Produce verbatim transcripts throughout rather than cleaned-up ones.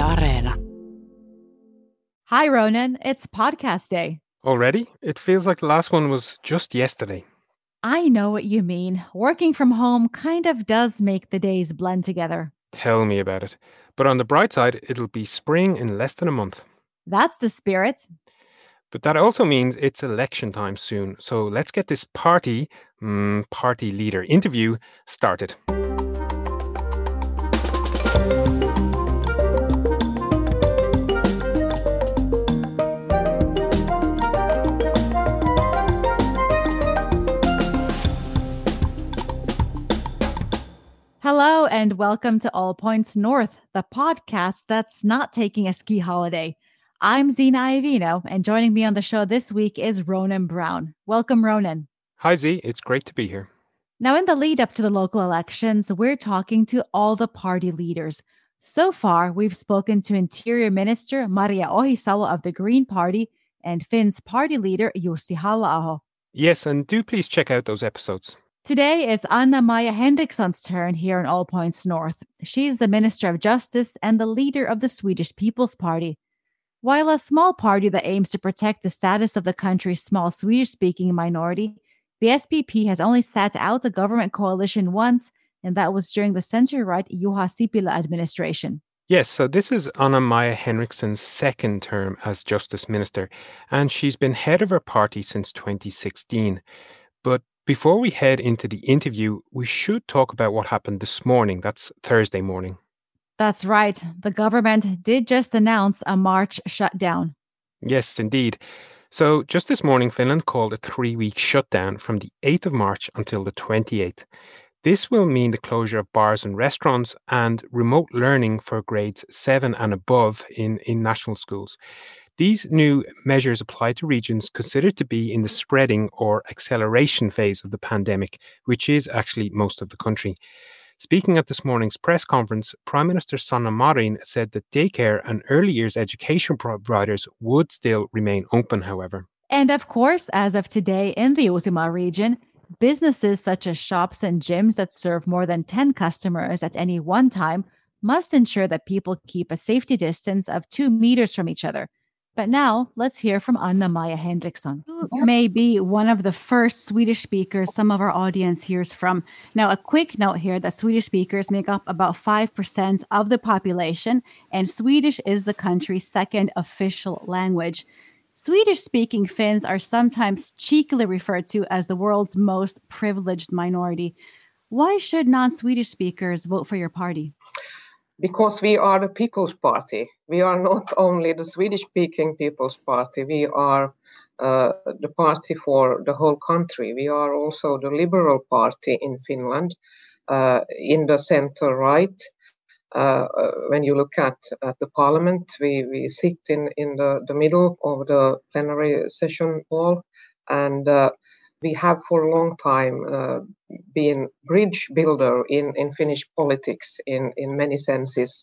Areena. Hi, Ronan. It's podcast day. Already? It feels like the last one was just yesterday. I know what you mean. Working from home kind of does make the days blend together. Tell me about it. But on the bright side, it'll be spring in less than a month. That's the spirit. But that also means it's election time soon. So let's get this party, mm, party leader interview started. Hello and welcome to All Points North, the podcast that's not taking a ski holiday. I'm Zena Iovino, and joining me on the show this week is Ronan Brown. Welcome, Ronan. Hi, Z. It's great to be here. Now, in the lead up to the local elections, we're talking to all the party leaders. So far, we've spoken to Interior Minister Maria Ohisalo of the Green Party and Finn's party leader Jussi Halla-aho. Yes, and do please check out those episodes. Today, it's Anna-Maja Henriksson's turn here in All Points North. She's the Minister of Justice and the leader of the Swedish People's Party. While a small party that aims to protect the status of the country's small Swedish-speaking minority, the S P P has only sat out a government coalition once, and that was during the center-right Juha Sipilä administration. Yes, so this is Anna-Maja Henriksson's second term as Justice Minister, and she's been head of her party since twenty sixteen. But before we head into the interview, we should talk about what happened this morning. That's Thursday morning. That's right. The government did just announce a March shutdown. Yes, indeed. So just this morning, Finland called a three-week shutdown from the eighth of March until the twenty-eighth. This will mean the closure of bars and restaurants and remote learning for grades seven and above in, in national schools. These new measures apply to regions considered to be in the spreading or acceleration phase of the pandemic, which is actually most of the country. Speaking at this morning's press conference, Prime Minister Sanna Marin said that daycare and early years education providers would still remain open, however. And of course, as of today in the Uusimaa region, businesses such as shops and gyms that serve more than ten customers at any one time must ensure that people keep a safety distance of two meters from each other. But now, let's hear from Anna-Maja Henriksson, who may be one of the first Swedish speakers some of our audience hears from. Now, a quick note here that Swedish speakers make up about five percent of the population, and Swedish is the country's second official language. Swedish-speaking Finns are sometimes cheekily referred to as the world's most privileged minority. Why should non-Swedish speakers vote for your party? Because we are the People's Party. We are not only the Swedish-speaking People's Party, we are uh, the party for the whole country. We are also the Liberal Party in Finland, uh, in the center-right. Uh, when you look at, at the parliament, we, we sit in, in the, the middle of the plenary session hall, and uh, we have for a long time uh, been bridge builder in, in Finnish politics in, in many senses.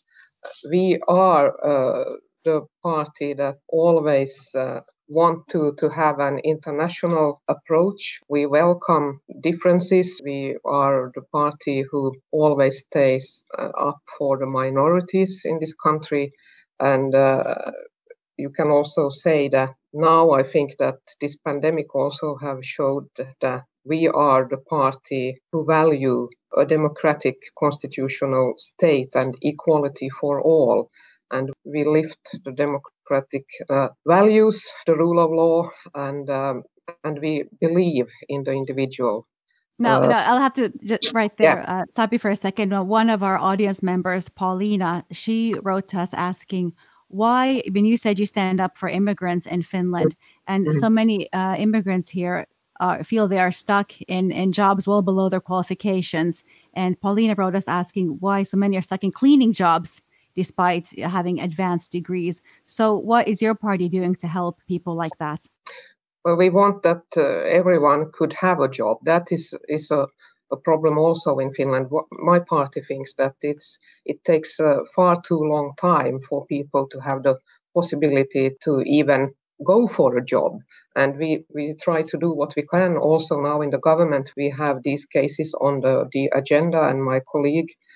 We are uh, the party that always uh, want to, to have an international approach. We welcome differences. We are the party who always stays uh, up for the minorities in this country. And uh, you can also say that now I think that this pandemic also have showed that we are the party who value a democratic constitutional state and equality for all. And we lift the democratic uh, values, the rule of law, and um, and we believe in the individual. No, uh, no, I'll have to just right there, yeah. uh, stop you for a second. One of our audience members, Paulina, she wrote to us asking, why, when you said you stand up for immigrants in Finland, and Mm-hmm. so many uh, immigrants here uh, feel they are stuck in, in jobs well below their qualifications. And Paulina wrote us asking why so many are stuck in cleaning jobs despite having advanced degrees. So what is your party doing to help people like that? Well, we want that uh, everyone could have a job. That is is a, a problem also in Finland. What my party thinks that it's it takes uh, far too long time for people to have the possibility to even go for a job. And we, we try to do what we can. Also now in the government, we have these cases on the, the agenda, and my colleague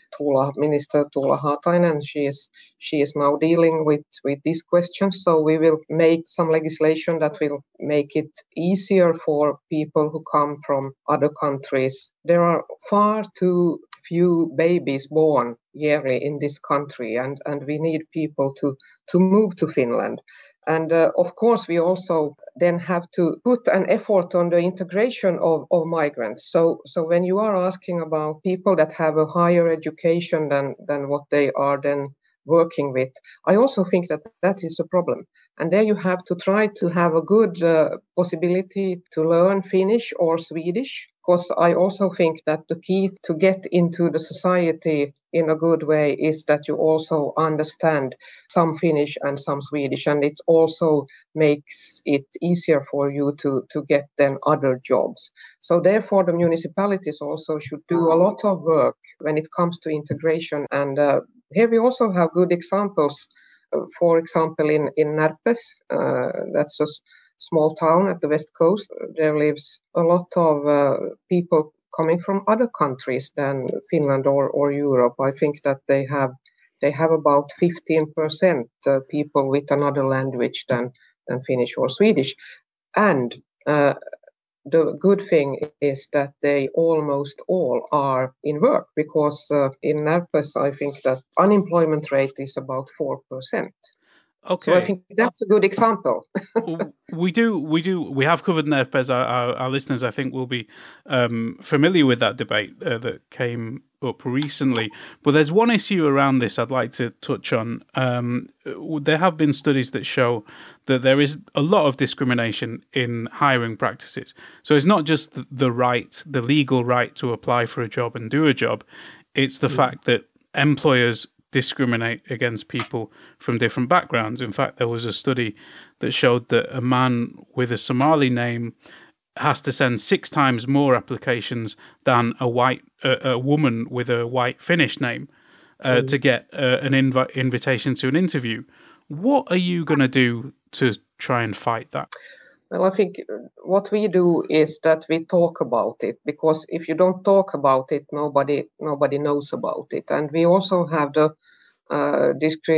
Tuula, Minister Tuula Haatainen. She is she is now dealing with, with these questions. So we will make some legislation that will make it easier for people who come from other countries. There are far too few babies born yearly in this country, and, and we need people to, to move to Finland. And uh, of course, we also then have to put an effort on the integration of, of migrants. So, so when you are asking about people that have a higher education than, than what they are then working with, I also think that that is a problem. And there you have to try to have a good uh, possibility to learn Finnish or Swedish, because I also think that the key to get into the society in a good way is that you also understand some Finnish and some Swedish, and it also makes it easier for you to, to get then other jobs. So therefore, the municipalities also should do a lot of work when it comes to integration. And uh, here we also have good examples. Uh, for example, in, in Närpes, uh, that's a s- small town at the west coast, there lives a lot of uh, people coming from other countries than Finland or, or Europe. I think that they have they have about fifteen percent uh, people with another language than, than Finnish or Swedish. And uh, the good thing is that they almost all are in work, because uh, in Närpes, I think that unemployment rate is about four percent. Okay. So I think that's a good example. we do, we do, we have covered Närpes. Our, our, our listeners, I think, will be um, familiar with that debate uh, that came up recently. But there's one issue around this I'd like to touch on. Um, there have been studies that show that there is a lot of discrimination in hiring practices. So it's not just the right, the legal right to apply for a job and do a job. It's the mm. fact that employers discriminate against people from different backgrounds. In fact, there was a study that showed that a man with a Somali name has to send six times more applications than a white uh, a woman with a white Finnish name uh, mm. to get uh, an invi- invitation to an interview. What are you going to do to try and fight that? Well, I think what we do is that we talk about it, because if you don't talk about it, nobody nobody knows about it. And we also have the uh,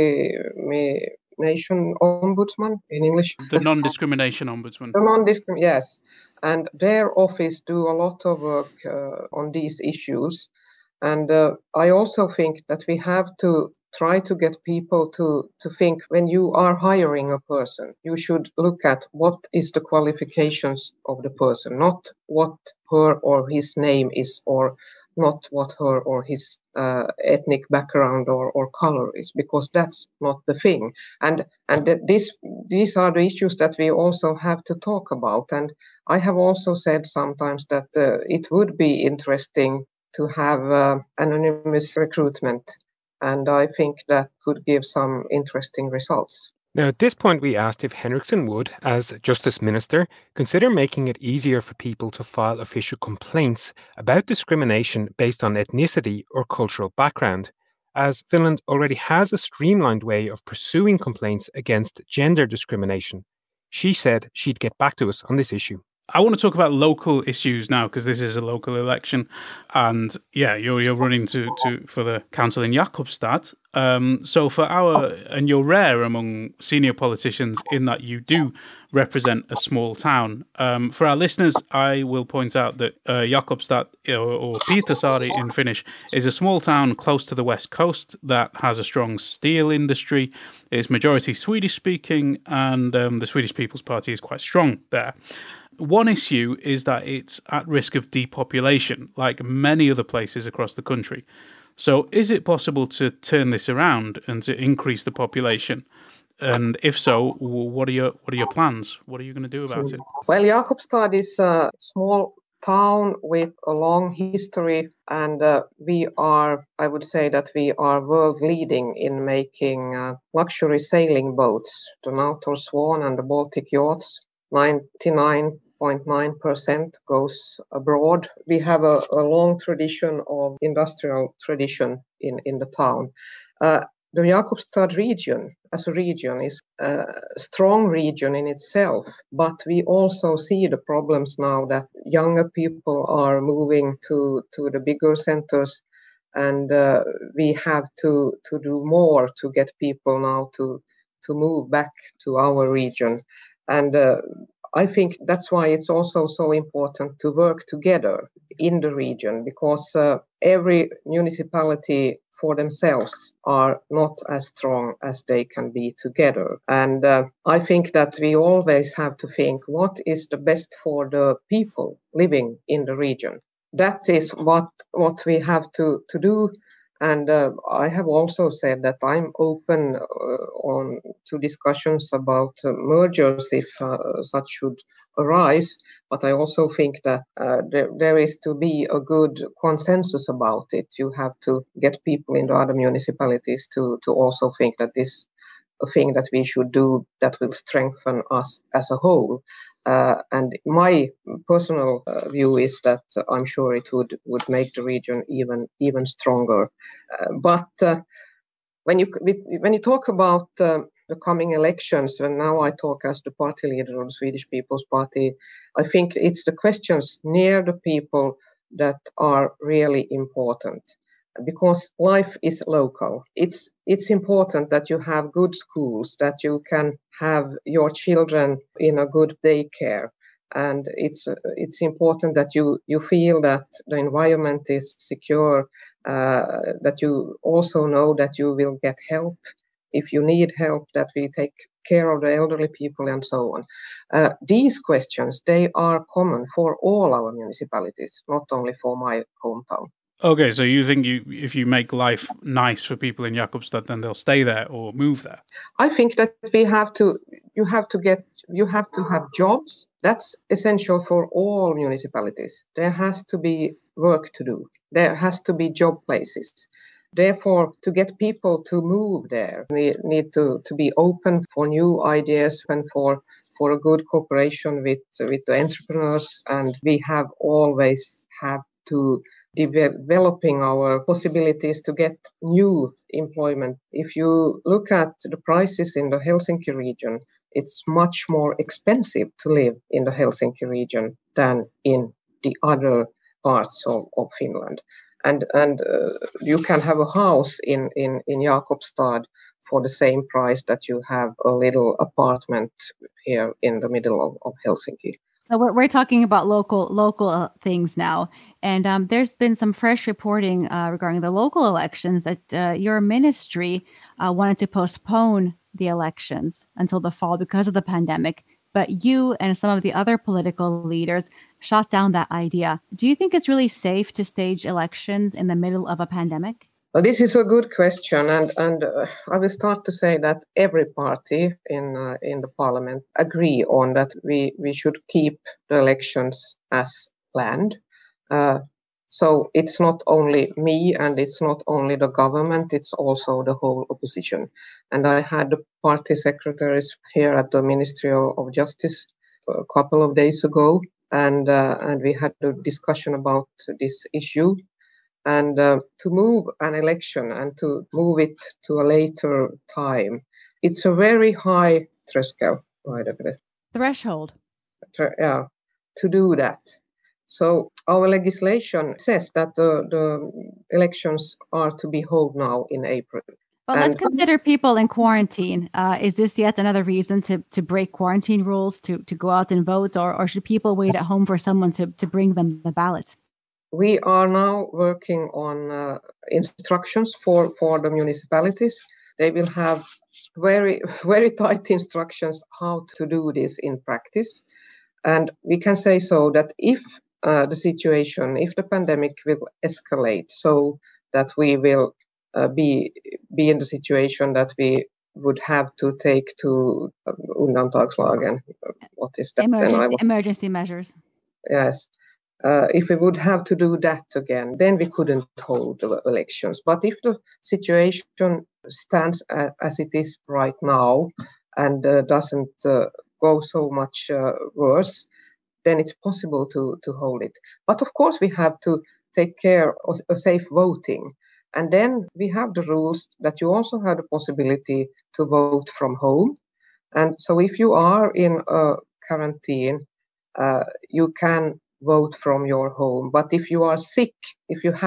discrimination ombudsman in English. The non-discrimination ombudsman. The non-discrim, yes. And their office do a lot of work uh, on these issues. And uh, I also think that we have to try to get people to, to think, when you are hiring a person, you should look at what is the qualifications of the person, not what her or his name is, or not what her or his uh, ethnic background or, or color is, because that's not the thing. And and th- this these are the issues that we also have to talk about. And I have also said sometimes that uh, it would be interesting to have uh, anonymous recruitment. And I think that could give some interesting results. Now, at this point, we asked if Henriksson would, as Justice Minister, consider making it easier for people to file official complaints about discrimination based on ethnicity or cultural background, as Finland already has a streamlined way of pursuing complaints against gender discrimination. She said she'd get back to us on this issue. I want to talk about local issues now, because this is a local election, and yeah, you're you're running to, to for the council in Jakobstad. Um, so for our and you're rare among senior politicians in that you do represent a small town. Um, for our listeners, I will point out that uh, Jakobstad, or, or Pietarsaari in Finnish, is a small town close to the west coast that has a strong steel industry. It's majority Swedish speaking, and um, the Swedish People's Party is quite strong there. One issue is that it's at risk of depopulation, like many other places across the country. So is it possible to turn this around and to increase the population? And if so, what are your what are your plans? What are you going to do about it? Well, Jakobstad is a small town with a long history, and uh, we are, I would say that we are world leading in making uh, luxury sailing boats, the Nautor Swan and the Baltic yachts. ninety-nine point nine percent goes abroad. We have a, a long tradition of industrial tradition in, in the town. Uh, the Jakobstad region, as a region, is a strong region in itself, but we also see the problems now that younger people are moving to, to the bigger centers, and uh, we have to to do more to get people now to to move back to our region. And uh, I think that's why it's also so important to work together in the region, because uh, every municipality for themselves are not as strong as they can be together. And uh, I think that we always have to think what is the best for the people living in the region. That is what what we have to, to do. And uh, I have also said that I'm open uh, on to discussions about uh, mergers if uh, such should arise. But I also think that uh, there, there is to be a good consensus about it. You have to get people in the other municipalities to, to also think that this a thing that we should do that will strengthen us as a whole. Uh, and my personal uh, view is that uh, I'm sure it would, would make the region even even stronger. Uh, but uh, when you when you talk about uh, the coming elections, and now I talk as the party leader of the Swedish People's Party, I think it's the questions near the people that are really important. Because life is local. It's it's important that you have good schools, that you can have your children in a good daycare, and it's it's important that you you feel that the environment is secure, uh, that you also know that you will get help if you need help, that we take care of the elderly people, and so on. Uh, these questions, they are common for all our municipalities, not only for my hometown. Okay, so you think you if you make life nice for people in Jakobstad, then they'll stay there or move there? I think that we have to, you have to get, you have to have jobs. That's essential for all municipalities. There has to be work to do. There has to be job places. Therefore, to get people to move there, we need to, to be open for new ideas and for for a good cooperation with with the entrepreneurs. And we have always have to developing our possibilities to get new employment. If you look at the prices in the Helsinki region, it's much more expensive to live in the Helsinki region than in the other parts of, of Finland. And and uh, you can have a house in, in, in Jakobstad for the same price that you have a little apartment here in the middle of, of Helsinki. So we're, we're talking about local local uh, things now. And um, there's been some fresh reporting uh, regarding the local elections that uh, your ministry uh, wanted to postpone the elections until the fall because of the pandemic. But you and some of the other political leaders shot down that idea. Do you think it's really safe to stage elections in the middle of a pandemic? Well, this is a good question, and and uh, I will start to say that every party in uh, in the parliament agree on that we, we should keep the elections as planned. Uh, so it's not only me and it's not only the government, it's also the whole opposition. And I had the party secretaries here at the Ministry of, of Justice a couple of days ago, and uh, and we had a discussion about this issue. And uh, to move an election and to move it to a later time, it's a very high threshold, Threshold. Yeah, to do that. So our legislation says that the, the elections are to be held now in April. But and let's consider people in quarantine. Uh, is this yet another reason to, to break quarantine rules, to, to go out and vote, or, or should people wait at home for someone to, to bring them the ballot? We are now working on uh, instructions for, for the municipalities. They will have very, very tight instructions how to do this in practice. And we can say so that if uh, the situation, if the pandemic will escalate so that we will uh, be, be in the situation that we would have to take to uh, undantagslagen. What is that? Emergency, emergency measures. Yes. Uh, if we would have to do that again, then we couldn't hold the elections. But if the situation stands uh, as it is right now and uh, doesn't uh, go so much uh, worse, then it's possible to, to hold it. But of course, we have to take care of, of safe voting. And then we have the rules that you also have the possibility to vote from home. And so if you are in a quarantine, uh, you can vote from your home. But if you are sick, if you have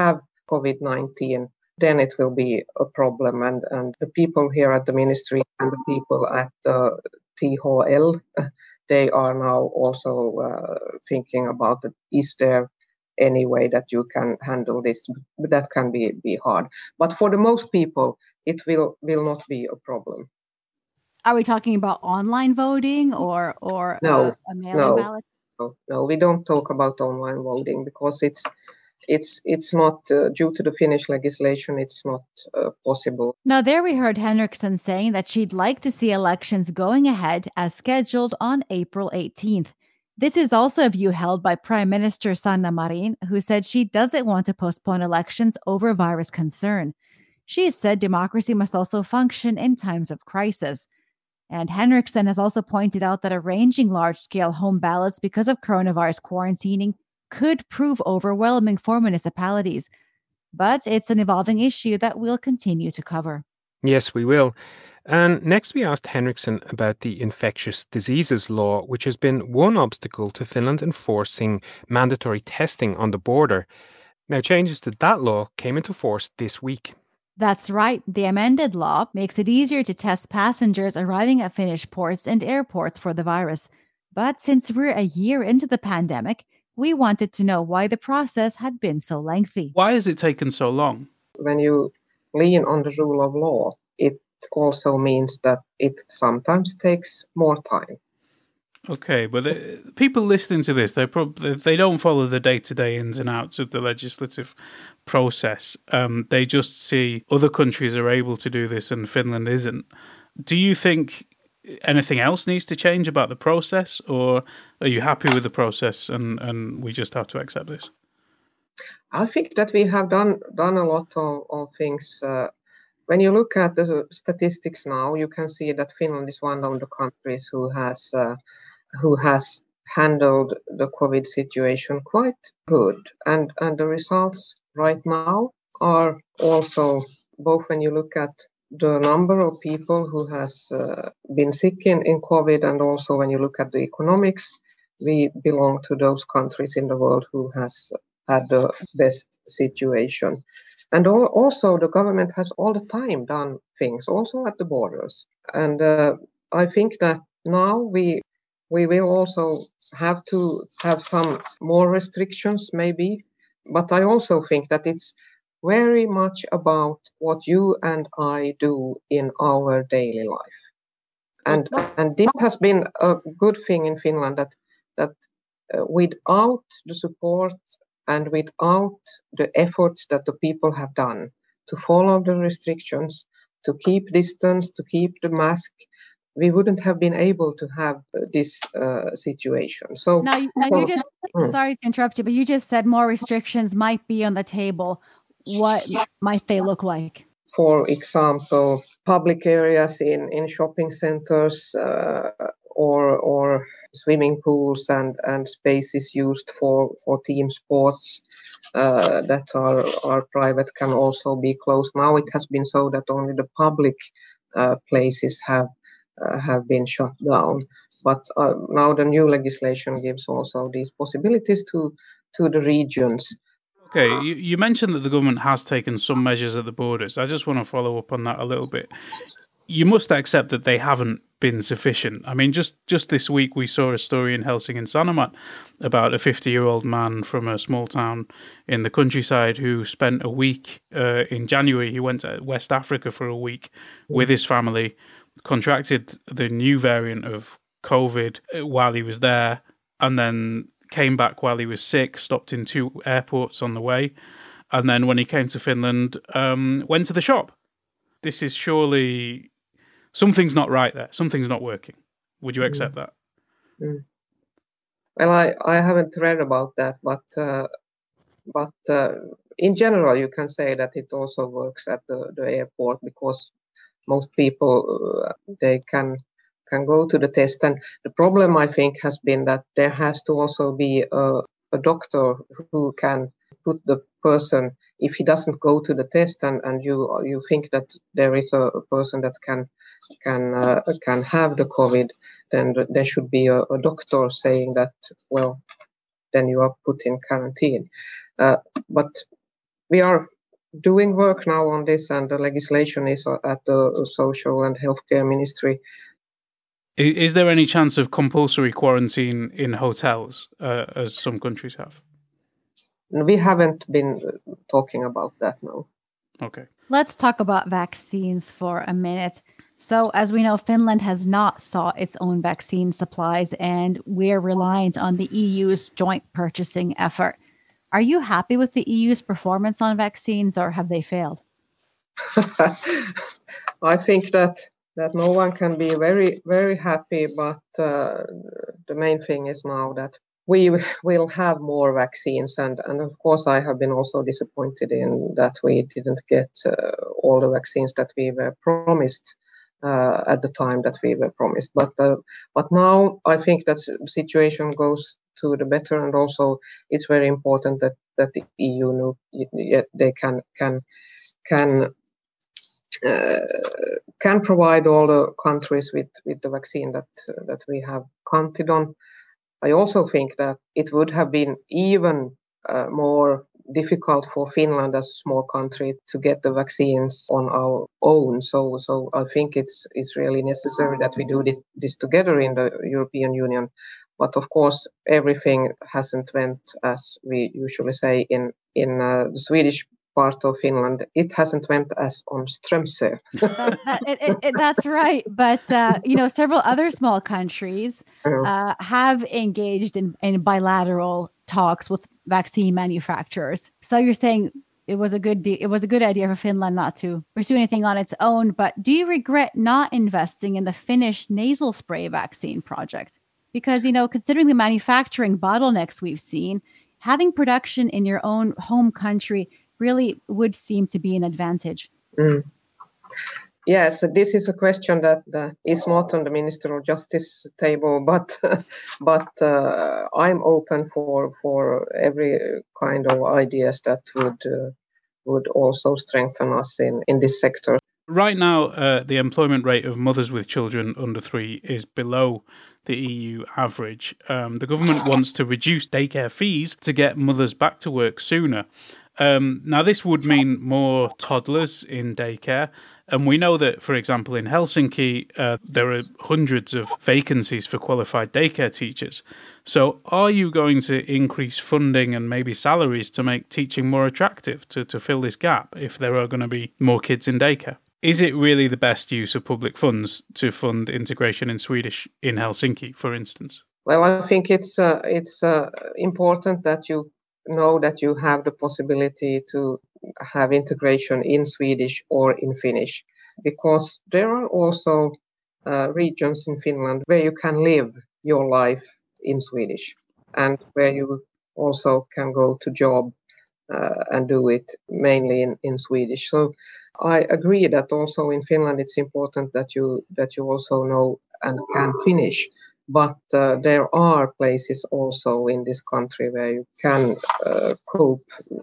COVID nineteen, then it will be a problem. And, and the people here at the ministry and the people at the T H L, they are now also uh, thinking about the, is there any way that you can handle this? But that can be, be hard. But for the most people, it will, will not be a problem. Are we talking about online voting or or no, uh, a mail-in no, ballot? No, no, we don't talk about online voting because it's it's it's not uh, due to the Finnish legislation. It's not uh, possible. Now, there we heard Henriksson saying that she'd like to see elections going ahead as scheduled on April eighteenth. This is also a view held by Prime Minister Sanna Marin, who said she doesn't want to postpone elections over virus concern. She said democracy must also function in times of crisis. And Henriksson has also pointed out that arranging large-scale home ballots because of coronavirus quarantining could prove overwhelming for municipalities. But it's an evolving issue that we'll continue to cover. Yes, we will. And next we asked Henriksson about the infectious diseases law, which has been one obstacle to Finland enforcing mandatory testing on the border. Now, changes to that law came into force this week. That's right. The amended law makes it easier to test passengers arriving at Finnish ports and airports for the virus. But since we're a year into the pandemic, we wanted to know why the process had been so lengthy. Why has it taken so long? When you lean on the rule of law, it also means that it sometimes takes more time. Okay, but the, people listening to this, they probably they don't follow the day-to-day ins and outs of the legislative process. Um, they just see other countries are able to do this and Finland isn't. Do you think anything else needs to change about the process, or are you happy with the process and, and we just have to accept this? I think that we have done done a lot of, of things. Uh, when you look at the statistics now, you can see that Finland is one of the countries who has uh, who has handled the COVID situation quite good. And, and the results right now are also, both when you look at the number of people who has uh, been sick in, in COVID and also when you look at the economics, we belong to those countries in the world who has had the best situation. And all, also the government has all the time done things, also at the borders. And uh, I think that now we We will also have to have some more restrictions, maybe. But I also think that it's very much about what you and I do in our daily life. And, and this has been a good thing in Finland, that, that uh, without the support and without the efforts that the people have done to follow the restrictions, to keep distance, to keep the mask, we wouldn't have been able to have this uh, situation. So now, now so, you just mm. sorry to interrupt you, but you just said more restrictions might be on the table. What might they look like? For example, public areas in, in shopping centers uh, or or swimming pools and, and spaces used for, for team sports uh, that are, are private can also be closed. Now it has been so that only the public uh, places have Uh, have been shut down, but uh, now the new legislation gives also these possibilities to to the regions. Okay, you, you mentioned that the government has taken some measures at the borders. I just want to follow up on that a little bit. You must accept that they haven't been sufficient. I mean, just, just this week we saw a story in Helsingin Sanomat about a fifty-year-old man from a small town in the countryside who spent a week uh, in January. He went to West Africa for a week with his family, contracted the new variant of COVID while he was there, and then came back while he was sick, stopped in two airports on the way, and then when he came to Finland, um, went to the shop. This is surely... Something's not right there. Something's not working. Would you accept mm. that? Mm. Well, I, I haven't read about that, but uh, but uh, in general, you can say that it also works at the, the airport, because most people, uh, they can can go to the test. And the problem, I think, has been that there has to also be a, a doctor who can put the person, if he doesn't go to the test and, and you you think that there is a, a person that can can uh, can have the COVID, then there should be a, a doctor saying that, well, then you are put in quarantine. Uh, but we are doing work now on this, and the legislation is at the Social and Healthcare Ministry. Is there any chance of compulsory quarantine in hotels, uh, as some countries have? We haven't been talking about that now. Okay. Let's talk about vaccines for a minute. So, as we know, Finland has not sought its own vaccine supplies, and we're reliant on the E U's joint purchasing effort. Are you happy with the E U's performance on vaccines, or have they failed? I think that that no one can be very, very happy, but uh, the main thing is now that we will have more vaccines. And, and of course, I have been also disappointed in that we didn't get uh, all the vaccines that we were promised uh, at the time that we were promised. But uh, but now I think that the situation goes to the better, and also it's very important that, that the E U know, they can can can. Uh, can provide all the countries with, with the vaccine that uh, that we have counted on. I also think that it would have been even uh, more difficult for Finland as a small country to get the vaccines on our own. So so I think it's it's really necessary that we do this, this together in the European Union. But of course, everything hasn't went as we usually say in in uh, the Swedish part of Finland. It hasn't went as on Strömsö. that, that, it, it, it, that's right. But, uh, you know, several other small countries uh, have engaged in, in bilateral talks with vaccine manufacturers. So you're saying it was a good de- it was a good idea for Finland not to pursue anything on its own. But do you regret not investing in the Finnish nasal spray vaccine project? Because, you know, considering the manufacturing bottlenecks we've seen, having production in your own home country really would seem to be an advantage. Mm. Yes, this is a question that, that is not on the Minister of Justice table, but but uh, I'm open for for every kind of ideas that would uh, would also strengthen us in, in this sector. Right now, uh, the employment rate of mothers with children under three is below the E U average. Um, the government wants to reduce daycare fees to get mothers back to work sooner. Um, now, this would mean more toddlers in daycare. And we know that, for example, in Helsinki, uh, there are hundreds of vacancies for qualified daycare teachers. So are you going to increase funding and maybe salaries to make teaching more attractive, to, to fill this gap if there are going to be more kids in daycare? Is it really the best use of public funds to fund integration in Swedish in Helsinki, for instance? Well, I think it's uh, it's uh, important that you know that you have the possibility to have integration in Swedish or in Finnish, because there are also uh, regions in Finland where you can live your life in Swedish and where you also can go to job uh, and do it mainly in, in Swedish. So I agree that also in Finland it's important that you that you also know and can Finnish. But uh, there are places also in this country where you can uh, cope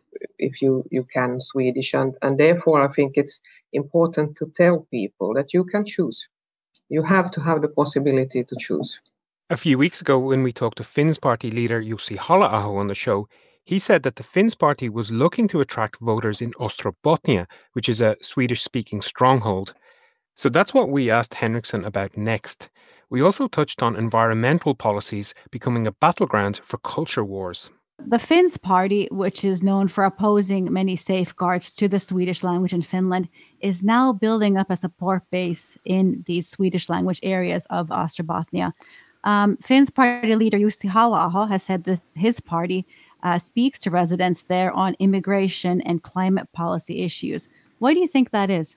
if you, you can Swedish. And, and therefore, I think it's important to tell people that you can choose. You have to have the possibility to choose. A few weeks ago, when we talked to Finns Party leader Jussi Halla-aho on the show, he said that the Finns Party was looking to attract voters in Ostrobothnia, which is a Swedish-speaking stronghold. So that's what we asked Henriksson about next. We also touched on environmental policies becoming a battleground for culture wars. The Finns Party, which is known for opposing many safeguards to the Swedish language in Finland, is now building up a support base in these Swedish language areas of Ostrobothnia. Um, Finns Party leader Jussi Halla-aho has said that his party uh, speaks to residents there on immigration and climate policy issues. Why do you think that is?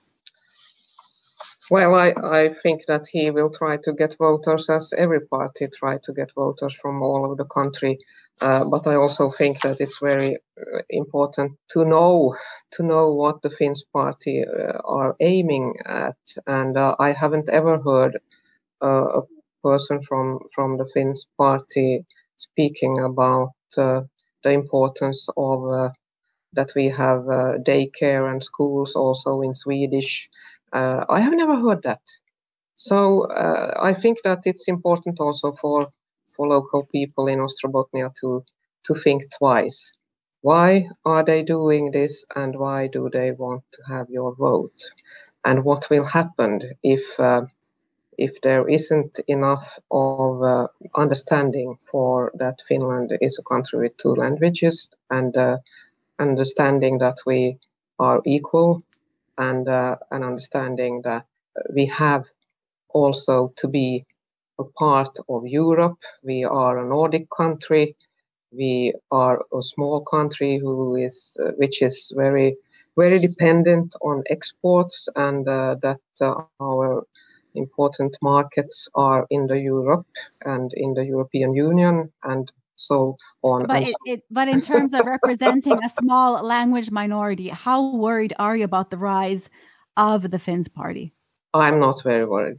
Well, I, I think that he will try to get voters, as every party try to get voters from all over the country. Uh, but I also think that it's very uh, important to know to know what the Finns Party uh, are aiming at. And uh, I haven't ever heard uh, a person from, from the Finns Party speaking about uh, the importance of uh, that we have uh, daycare and schools also in Swedish. Uh, I have never heard that. So uh, I think that it's important also for for local people in Ostrobothnia to to think twice Why are they doing this, and why do they want to have your vote? And what will happen if uh, if there isn't enough of uh, understanding for that Finland is a country with two languages, and uh, understanding that we are equal, and uh, an understanding that we have also to be a part of Europe. We are a Nordic country. We are a small country who is, uh, which is very, very dependent on exports, and uh, that uh, our important markets are in the Europe and in the European Union, and so on. But and it, so- it, but in terms of representing a small language minority, how worried are you about the rise of the Finns party? I'm not very worried.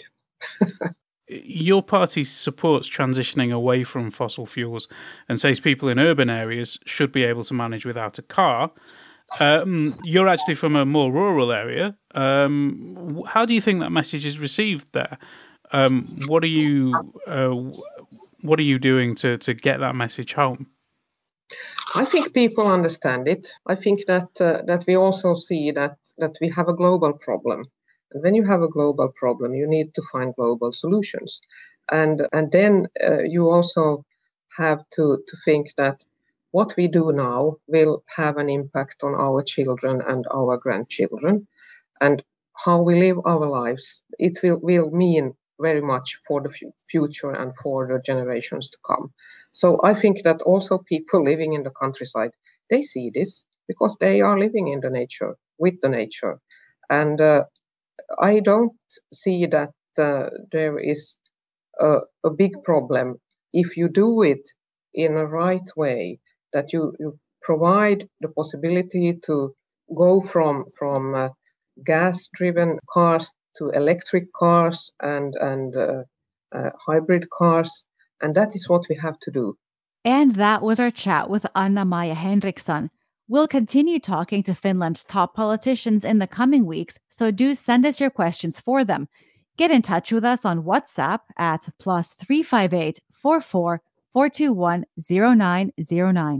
Your party supports transitioning away from fossil fuels and says people in urban areas should be able to manage without a car. Um, you're actually from a more rural area. Um, how do you think that message is received there? Um, what are you uh, what are you doing to to get that message home? I think people understand it. I think that uh, that we also see that that we have a global problem. And when you have a global problem, you need to find global solutions. And and then uh, you also have to, to think that what we do now will have an impact on our children and our grandchildren. And how we live our lives, it will, will mean very much for the f- future and for the generations to come. So I think that also people living in the countryside, they see this because they are living in the nature, with the nature. And uh, I don't see that uh, there is a, a big problem if you do it in a right way, that you, you provide the possibility to go from, from uh, gas-driven cars to electric cars and, and uh, uh, hybrid cars. And that is what we have to do. And that was our chat with Anna-Maja Henriksson. We'll continue talking to Finland's top politicians in the coming weeks, so do send us your questions for them. Get in touch with us on WhatsApp at plus three five eight, four four, four two one, zero nine zero nine.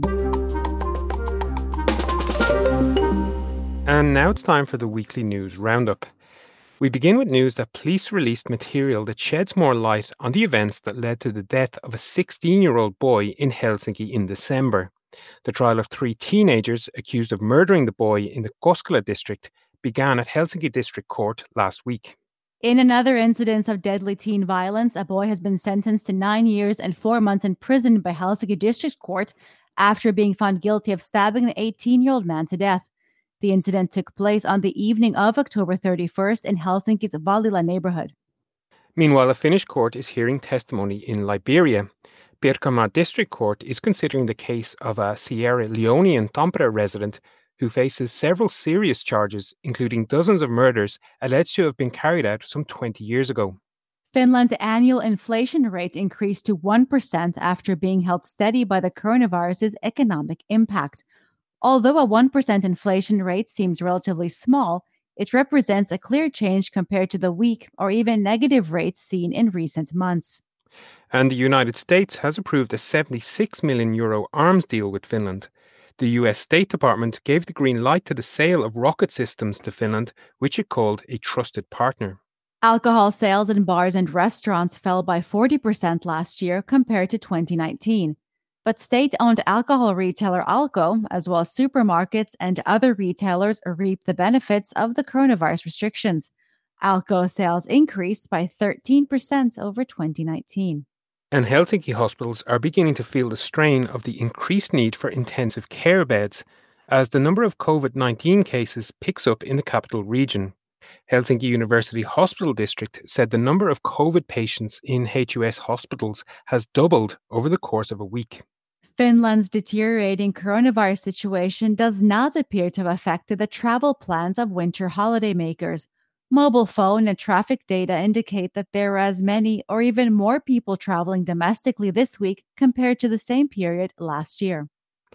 And now it's time for the weekly news roundup. We begin with news that police released material that sheds more light on the events that led to the death of a sixteen-year-old boy in Helsinki in December. The trial of three teenagers accused of murdering the boy in the Koskela district began at Helsinki District Court last week. In another incident of deadly teen violence, a boy has been sentenced to nine years and four months in prison by Helsinki District Court after being found guilty of stabbing an eighteen-year-old man to death. The incident took place on the evening of October thirty-first in Helsinki's Vallila neighborhood. Meanwhile, a Finnish court is hearing testimony in Liberia. Pirkanmaa District Court is considering the case of a Sierra Leonean Tampere resident who faces several serious charges, including dozens of murders alleged to have been carried out some twenty years ago. Finland's annual inflation rate increased to one percent after being held steady by the coronavirus's economic impact. Although a one percent inflation rate seems relatively small, it represents a clear change compared to the weak or even negative rates seen in recent months. And the United States has approved a seventy-six million euro arms deal with Finland. The U S State Department gave the green light to the sale of rocket systems to Finland, which it called a trusted partner. Alcohol sales in bars and restaurants fell by forty percent last year compared to twenty nineteen. But state-owned alcohol retailer Alko, as well as supermarkets and other retailers, reap the benefits of the coronavirus restrictions. Alko sales increased by thirteen percent over twenty nineteen. And Helsinki hospitals are beginning to feel the strain of the increased need for intensive care beds as the number of COVID nineteen cases picks up in the capital region. Helsinki University Hospital District said the number of COVID patients in H U S hospitals has doubled over the course of a week. Finland's deteriorating coronavirus situation does not appear to have affected the travel plans of winter holidaymakers. Mobile phone and traffic data indicate that there are as many or even more people traveling domestically this week compared to the same period last year.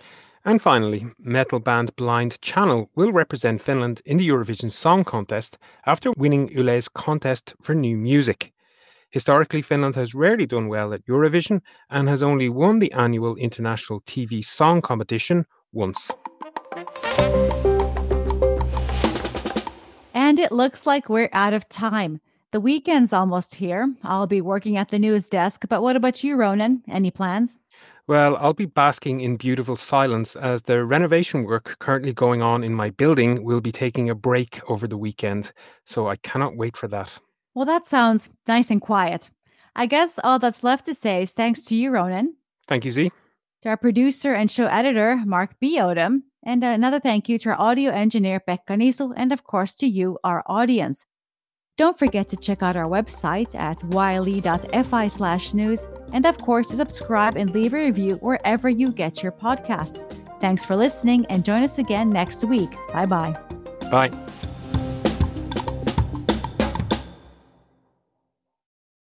And finally, metal band Blind Channel will represent Finland in the Eurovision Song Contest after winning Yle's contest for new music. Historically, Finland has rarely done well at Eurovision and has only won the annual international T V song competition once. And it looks like we're out of time. The weekend's almost here. I'll be working at the news desk, but what about you, Ronan? Any plans? Well, I'll be basking in beautiful silence as the renovation work currently going on in my building will be taking a break over the weekend. So I cannot wait for that. Well, that sounds nice and quiet. I guess all that's left to say is thanks to you, Ronan. Thank you, Z. To our producer and show editor, Mark B. Odom. And another thank you to our audio engineer, Pekka Nisu, and of course to you, our audience. Don't forget to check out our website at yle.fi slash news, and of course to subscribe and leave a review wherever you get your podcasts. Thanks for listening, and join us again next week. Bye-bye. Bye.